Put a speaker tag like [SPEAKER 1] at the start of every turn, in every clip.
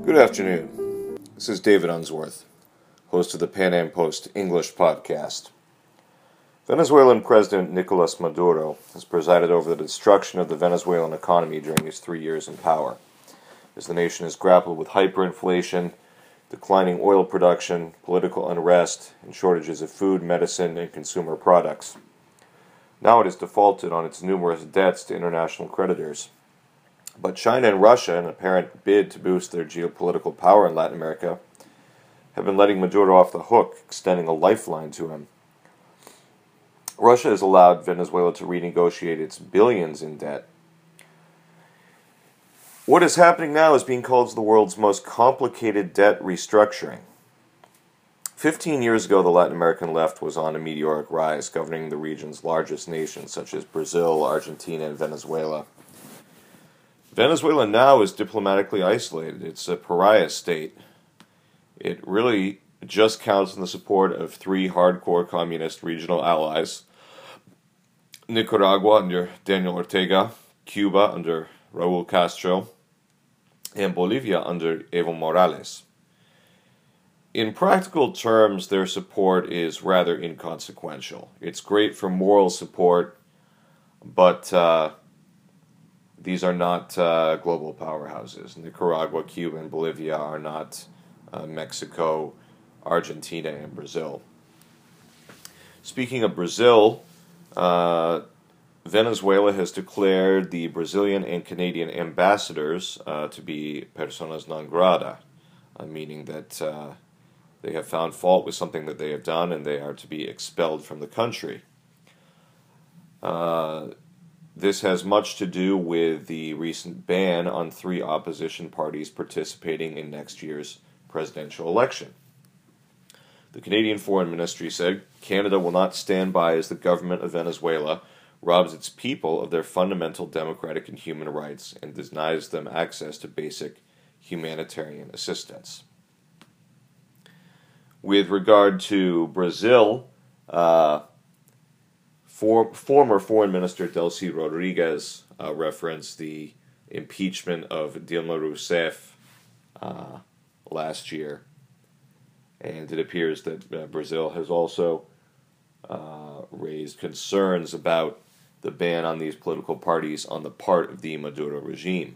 [SPEAKER 1] Good afternoon. This is David Unsworth, host of the Pan Am Post English podcast. Venezuelan President Nicolas Maduro has presided over the destruction of the Venezuelan economy during his 3 years in power, as the nation has grappled with hyperinflation, declining oil production, political unrest, and shortages of food, medicine, and consumer products. Now it has defaulted on its numerous debts to international creditors. But China and Russia, in an apparent bid to boost their geopolitical power in Latin America, have been letting Maduro off the hook, extending a lifeline to him. Russia has allowed Venezuela to renegotiate its billions in debt. What is happening now is being called the world's most complicated debt restructuring. 15 years ago, the Latin American left was on a meteoric rise, governing the region's largest nations, such as Brazil, Argentina, and Venezuela. Venezuela now is diplomatically isolated. It's a pariah state. It really just counts on the support of three hardcore communist regional allies: Nicaragua under Daniel Ortega, Cuba under Raúl Castro, and Bolivia under Evo Morales. In practical terms, their support is rather inconsequential. It's great for moral support, but these are not global powerhouses. Nicaragua, Cuba, and Bolivia are not Mexico, Argentina, and Brazil. Speaking of Brazil, Venezuela has declared the Brazilian and Canadian ambassadors to be personas non grata, meaning that they have found fault with something that they have done and they are to be expelled from the country. This has much to do with the recent ban on three opposition parties participating in next year's presidential election. The Canadian Foreign Ministry said Canada will not stand by as the government of Venezuela robs its people of their fundamental democratic and human rights and denies them access to basic humanitarian assistance. With regard to Brazil, former Foreign Minister Delcy Rodriguez referenced the impeachment of Dilma Rousseff last year, and it appears that Brazil has also raised concerns about the ban on these political parties on the part of the Maduro regime.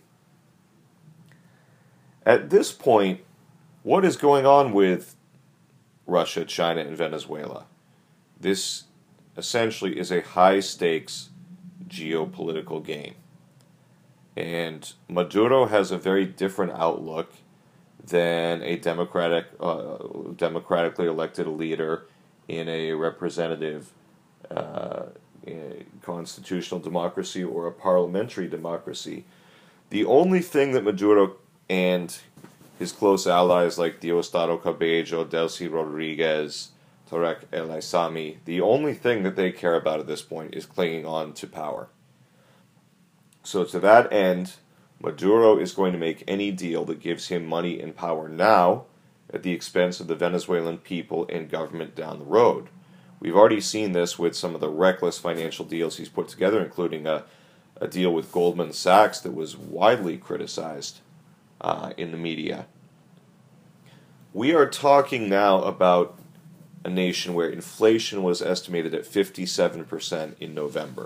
[SPEAKER 1] At this point, what is going on with Russia, China, and Venezuela? This essentially is a high-stakes geopolitical game. And Maduro has a very different outlook than a democratically elected leader in a representative constitutional democracy or a parliamentary democracy. The only thing that Maduro and his close allies like Diosdado Cabello, Delcy Rodriguez, Tarek El Aissami, the only thing that they care about at this point is clinging on to power. So to that end, Maduro is going to make any deal that gives him money and power now at the expense of the Venezuelan people and government down the road. We've already seen this with some of the reckless financial deals he's put together, including a deal with Goldman Sachs that was widely criticized in the media. We are talking now about a nation where inflation was estimated at 57% in November.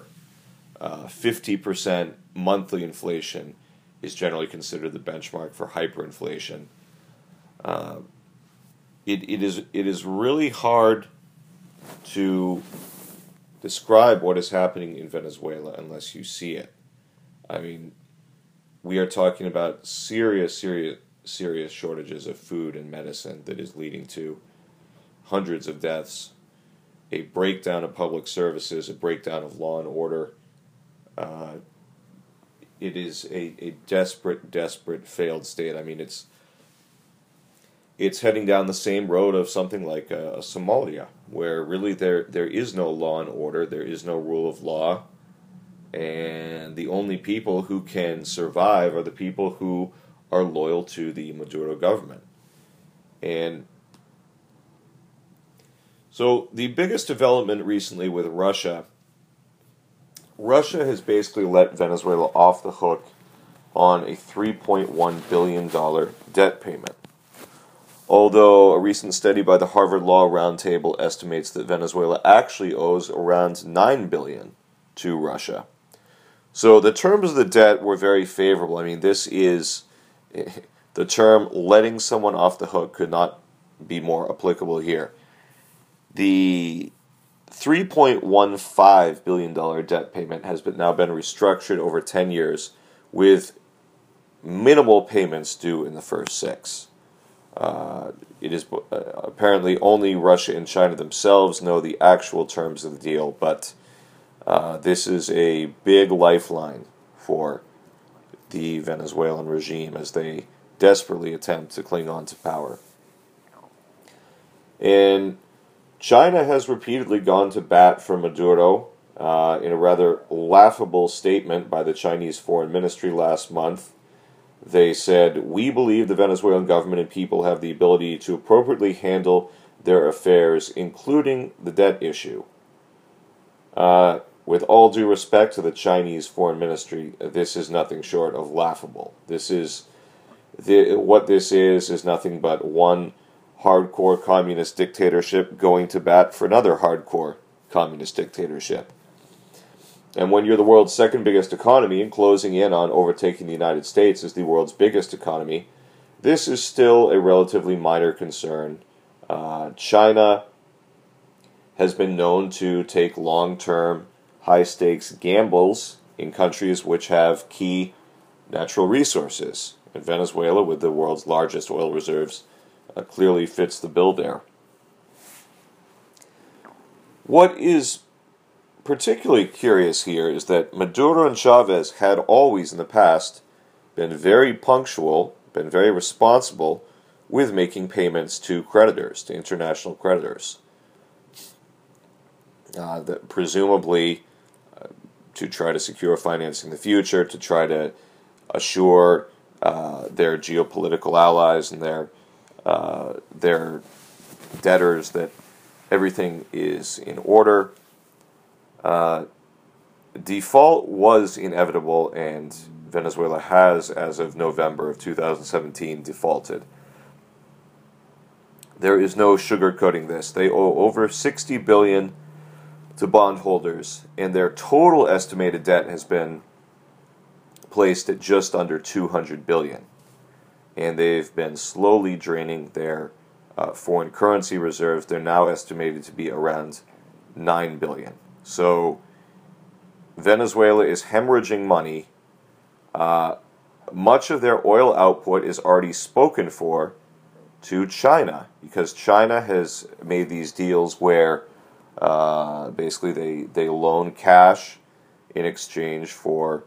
[SPEAKER 1] 50% monthly inflation is generally considered the benchmark for hyperinflation. It is really hard to describe what is happening in Venezuela unless you see it. I mean, we are talking about serious shortages of food and medicine that is leading to hundreds of deaths, a breakdown of public services, a breakdown of law and order. It is a desperate failed state. I mean, it's heading down the same road of something like Somalia, where really there is no law and order, there is no rule of law, and the only people who can survive are the people who are loyal to the Maduro government. And so the biggest development recently with Russia has basically let Venezuela off the hook on a $3.1 billion debt payment. Although a recent study by the Harvard Law Roundtable estimates that Venezuela actually owes around $9 billion to Russia. So the terms of the debt were very favorable. I mean, this is the term letting someone off the hook could not be more applicable here. The $3.15 billion debt payment has now been restructured over 10 years with minimal payments due in the first 6. It is apparently only Russia and China themselves know the actual terms of the deal, but this is a big lifeline for the Venezuelan regime as they desperately attempt to cling on to power. And China has repeatedly gone to bat for Maduro in a rather laughable statement by the Chinese Foreign Ministry last month. They said, "We believe the Venezuelan government and people have the ability to appropriately handle their affairs, including the debt issue." With all due respect to the Chinese Foreign Ministry, this is nothing short of laughable. What this is nothing but one hardcore communist dictatorship going to bat for another hardcore communist dictatorship. And when you're the world's second biggest economy and closing in on overtaking the United States as the world's biggest economy, this is still a relatively minor concern. China has been known to take long-term, high-stakes gambles in countries which have key natural resources. And Venezuela, with the world's largest oil reserves, clearly fits the bill there. What is particularly curious here is that Maduro and Chavez had always in the past been very punctual, been very responsible with making payments to creditors, to international creditors. That presumably to try to secure financing in the future, to try to assure their geopolitical allies and their debtors that everything is in order. Default was inevitable, and Venezuela has, as of November of 2017, defaulted. There is no sugarcoating this. They owe over $60 billion to bondholders, and their total estimated debt has been placed at just under $200 billion. And they've been slowly draining their foreign currency reserves. They're now estimated to be around $9 billion. So Venezuela is hemorrhaging money. Much of their oil output is already spoken for to China, because China has made these deals where basically they loan cash in exchange for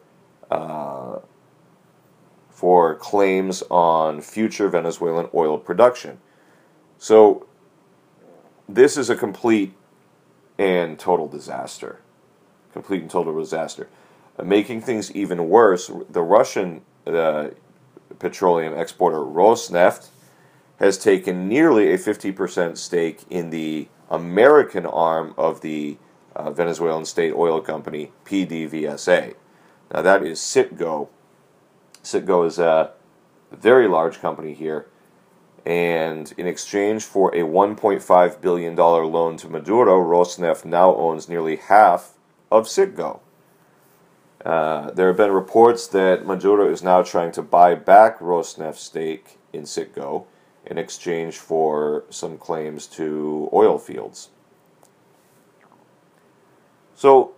[SPEAKER 1] claims on future Venezuelan oil production. So this is a complete and total disaster. Complete and total disaster. Making things even worse, the Russian petroleum exporter Rosneft has taken nearly a 50% stake in the American arm of the Venezuelan state oil company, PDVSA. Now that is Citgo. Citgo is a very large company here, and in exchange for a $1.5 billion loan to Maduro, Rosneft now owns nearly half of Citgo. There have been reports that Maduro is now trying to buy back Rosneft's stake in Citgo in exchange for some claims to oil fields. So,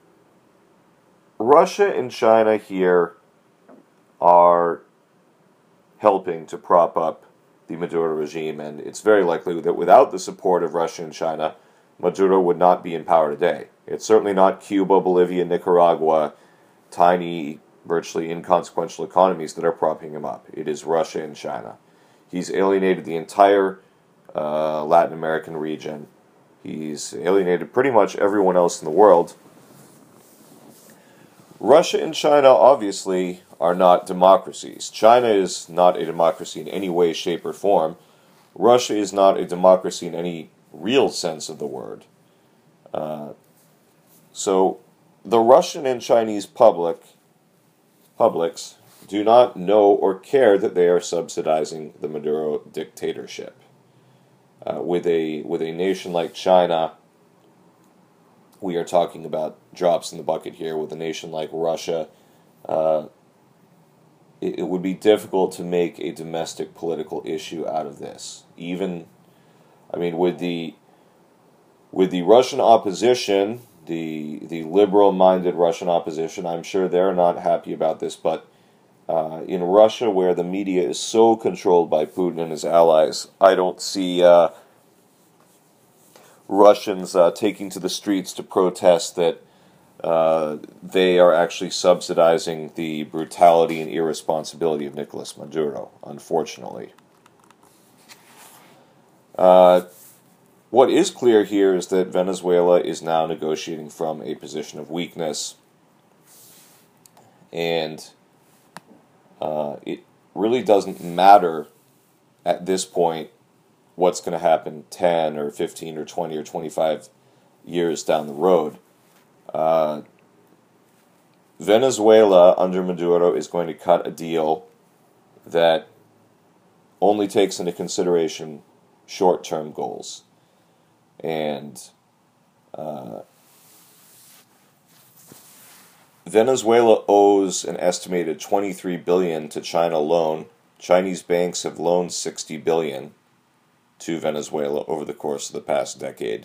[SPEAKER 1] Russia and China here are helping to prop up the Maduro regime, and it's very likely that without the support of Russia and China, Maduro would not be in power today. It's certainly not Cuba, Bolivia, Nicaragua, tiny, virtually inconsequential economies that are propping him up. It is Russia and China. He's alienated the entire Latin American region. He's alienated pretty much everyone else in the world. Russia and China obviously are not democracies. China is not a democracy in any way, shape, or form. Russia is not a democracy in any real sense of the word. So the Russian and Chinese publics do not know or care that they are subsidizing the Maduro dictatorship. With a nation like China, we are talking about drops in the bucket here. With a nation like Russia, it would be difficult to make a domestic political issue out of this. Even, I mean, with the Russian opposition, the liberal-minded Russian opposition, I'm sure they're not happy about this, but in Russia, where the media is so controlled by Putin and his allies, I don't see Russians taking to the streets to protest that they are actually subsidizing the brutality and irresponsibility of Nicolas Maduro, unfortunately. What is clear here is that Venezuela is now negotiating from a position of weakness, and it really doesn't matter at this point what's going to happen 10 or 15 or 20 or 25 years down the road. Venezuela, under Maduro, is going to cut a deal that only takes into consideration short-term goals. And Venezuela owes an estimated $23 billion to China alone. Chinese banks have loaned $60 billion to Venezuela over the course of the past decade.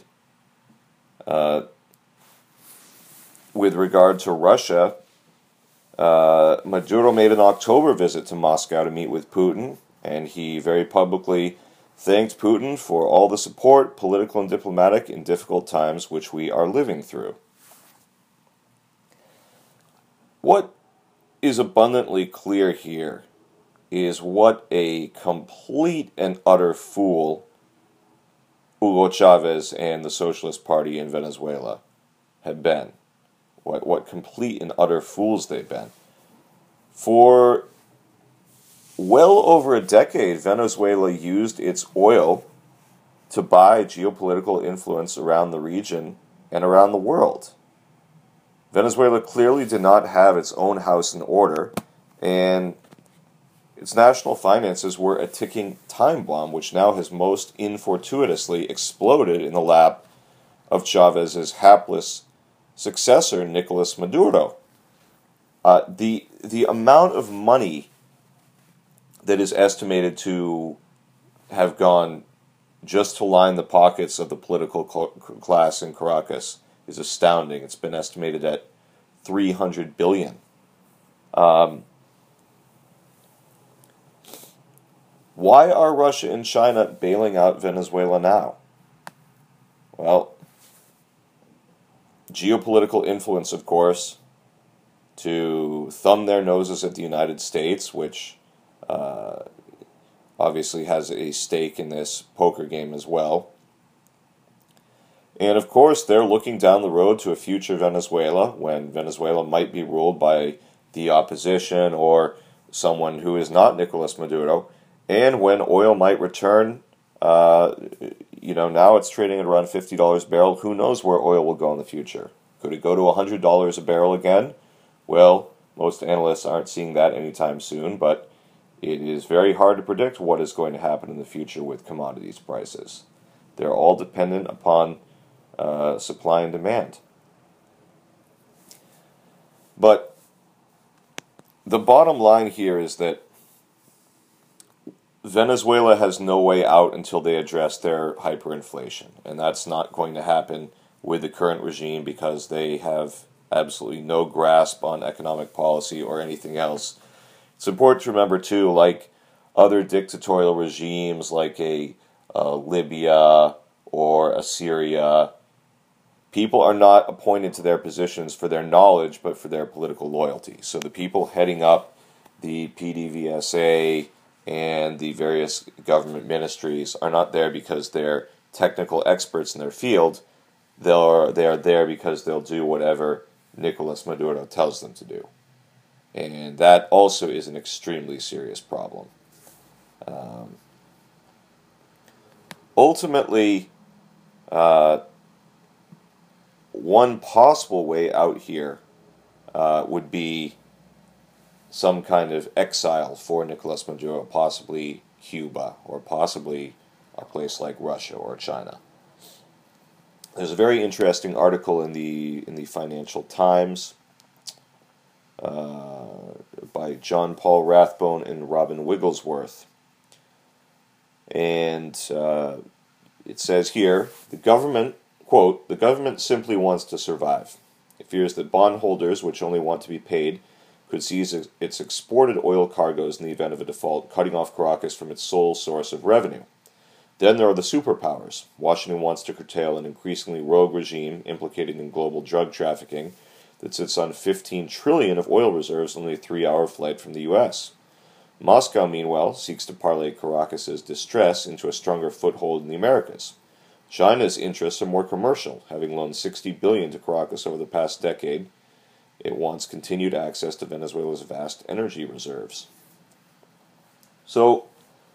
[SPEAKER 1] With regard to Russia, Maduro made an October visit to Moscow to meet with Putin, and he very publicly thanked Putin for all the support, political and diplomatic, in difficult times which we are living through. What is abundantly clear here is what a complete and utter fool Hugo Chavez and the Socialist Party in Venezuela have been. What complete and utter fools they've been. For well over a decade, Venezuela used its oil to buy geopolitical influence around the region and around the world. Venezuela clearly did not have its own house in order, and its national finances were a ticking time bomb, which now has most infortuitously exploded in the lap of Chavez's hapless successor, Nicolas Maduro. The amount of money that is estimated to have gone just to line the pockets of the political class in Caracas is astounding. It's been estimated at $300 billion. Why are Russia and China bailing out Venezuela now? Well, geopolitical influence, of course, to thumb their noses at the United States, which obviously has a stake in this poker game as well. And of course, they're looking down the road to a future Venezuela when Venezuela might be ruled by the opposition or someone who is not Nicolas Maduro, and when oil might return. Now it's trading at around $50 a barrel. Who knows where oil will go in the future? Could it go to $100 a barrel again? Well, most analysts aren't seeing that anytime soon, but it is very hard to predict what is going to happen in the future with commodities prices. They're all dependent upon supply and demand. But the bottom line here is that Venezuela has no way out until they address their hyperinflation, and that's not going to happen with the current regime because they have absolutely no grasp on economic policy or anything else. It's important to remember, too, like other dictatorial regimes like a Libya or a Syria, people are not appointed to their positions for their knowledge, but for their political loyalty. So the people heading up the PDVSA and the various government ministries are not there because they're technical experts in their field. They are there because they'll do whatever Nicolas Maduro tells them to do. And that also is an extremely serious problem. Ultimately, one possible way out here would be some kind of exile for Nicolas Maduro, possibly Cuba, or possibly a place like Russia or China. There's a very interesting article in the Financial Times by John Paul Rathbone and Robin Wigglesworth. And it says here, the government, quote, the government simply wants to survive. It fears that bondholders, which only want to be paid, could seize its exported oil cargoes in the event of a default, cutting off Caracas from its sole source of revenue. Then there are the superpowers. Washington wants to curtail an increasingly rogue regime implicated in global drug trafficking that sits on $15 trillion of oil reserves only a 3-hour flight from the U.S. Moscow, meanwhile, seeks to parlay Caracas's distress into a stronger foothold in the Americas. China's interests are more commercial, having loaned $60 billion to Caracas over the past decade. It wants continued access to Venezuela's vast energy reserves. So,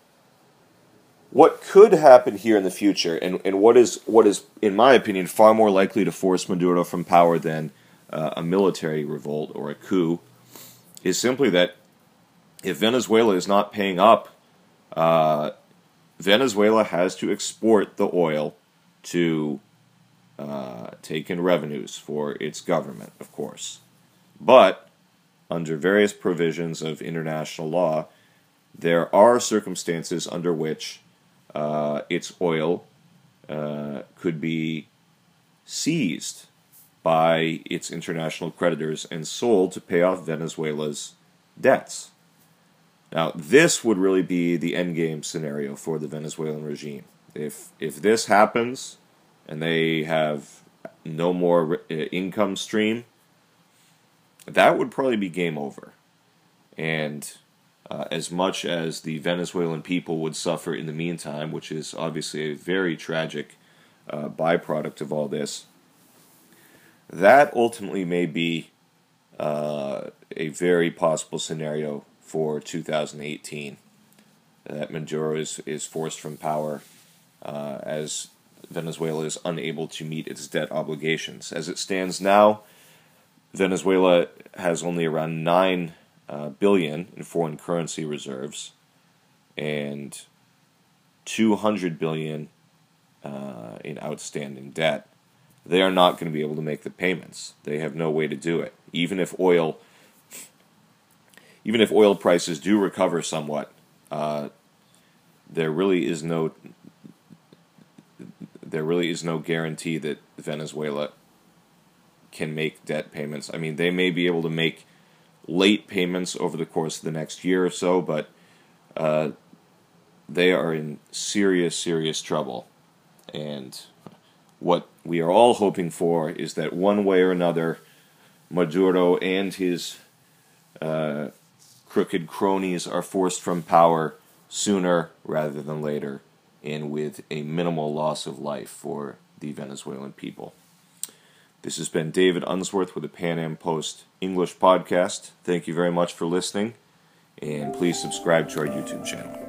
[SPEAKER 1] what could happen here in the future, and what is, in my opinion, far more likely to force Maduro from power than a military revolt or a coup, is simply that if Venezuela is not paying up, Venezuela has to export the oil to take in revenues for its government, of course. But, under various provisions of international law, there are circumstances under which its oil could be seized by its international creditors and sold to pay off Venezuela's debts. Now, this would really be the endgame scenario for the Venezuelan regime. If this happens, and they have no more income stream, that would probably be game over. And as much as the Venezuelan people would suffer in the meantime, which is obviously a very tragic byproduct of all this, that ultimately may be a very possible scenario for 2018, that Maduro is forced from power as Venezuela is unable to meet its debt obligations. As it stands now, Venezuela has only around $9 billion in foreign currency reserves and $200 billion in outstanding debt. They are not going to be able to make the payments. They have no way to do it. Even if oil prices do recover somewhat, there really is no guarantee that Venezuela can make debt payments. I mean, they may be able to make late payments over the course of the next year or so, but they are in serious, serious trouble. And what we are all hoping for is that one way or another, Maduro and his crooked cronies are forced from power sooner rather than later, and with a minimal loss of life for the Venezuelan people. This has been David Unsworth with the Pan Am Post English podcast. Thank you very much for listening, and please subscribe to our YouTube channel.